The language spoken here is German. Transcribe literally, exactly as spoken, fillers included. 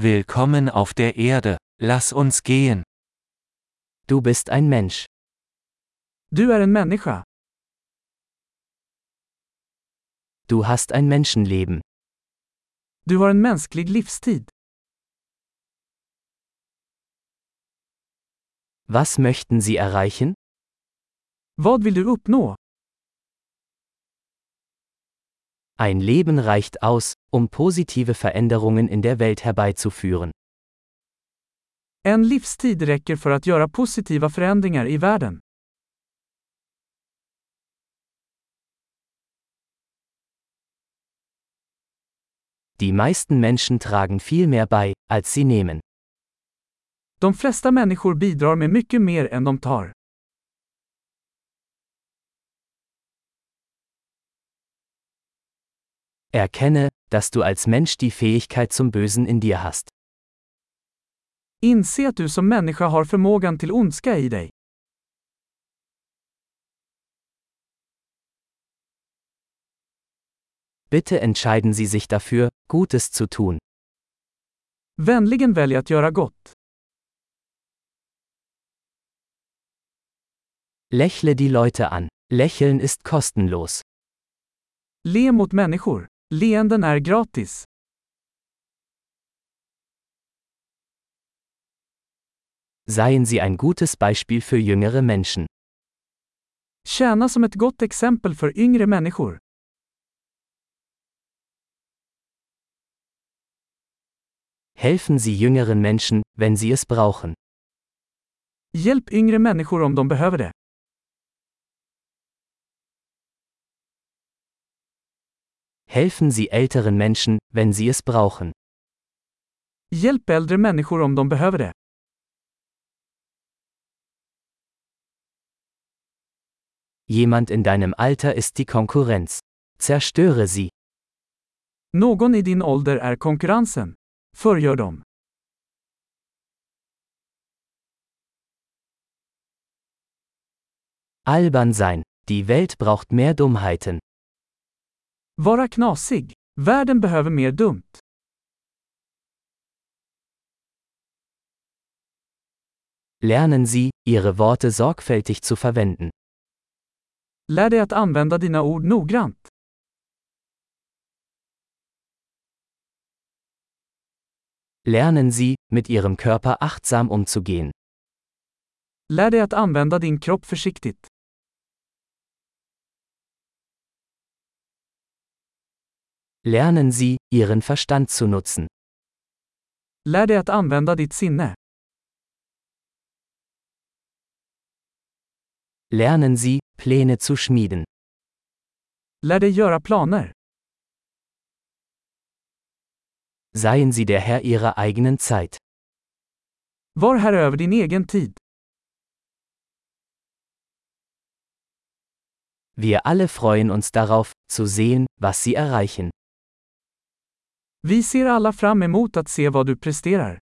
Willkommen auf der Erde, lass uns gehen. Du bist ein Mensch. Du är en människa. Du hast ein Menschenleben. Du har en mänsklig livstid. Was möchten Sie erreichen? Vad vill du uppnå? Ein Leben reicht aus, um positive Veränderungen in der Welt herbeizuführen. En livstid räcker för att göra positiva förändringar i världen. Die meisten Menschen tragen viel mehr bei, als sie nehmen. De flesta människor bidrar med mycket mer än de tar. Erkenne, dass du als Mensch die Fähigkeit zum Bösen in dir hast. Inse att du som människa har förmågan till ondska i dig. Bitte entscheiden Sie sich dafür, Gutes zu tun. Vänligen välj att göra gott. Lächle die Leute an. Lächeln ist kostenlos. Le mot människor. Leenden är gratis. Seien Sie ein gutes Beispiel für jüngere Menschen. Tjäna som ett gott exempel för yngre människor. Helfen Sie jüngeren Menschen, wenn sie es brauchen. Hjälp yngre människor om de behöver det. Helfen Sie älteren Menschen, wenn sie es brauchen. Hjälp äldre människor om de behöver det. Jemand in deinem Alter ist die Konkurrenz. Zerstöre sie. Någon i din ålder är konkurrensen. Förgör dem. Albern sein. Die Welt braucht mehr Dummheiten. Vara knasig. Världen behöver mer dumt. Lernen Sie, Ihre Worte sorgfältig zu verwenden. Lär dig att använda dina ord noggrant. Lernen Sie, mit Ihrem Körper achtsam umzugehen. Lär dig att använda din kropp försiktigt. Lernen Sie, Ihren Verstand zu nutzen. Lär dig att använda ditt sinne. Lernen Sie, Pläne zu schmieden. Lär dig göra planer. Seien Sie der Herr Ihrer eigenen Zeit. Var herre över din egen tid. Wir alle freuen uns darauf, zu sehen, was Sie erreichen. Vi ser alla fram emot att se vad du presterar.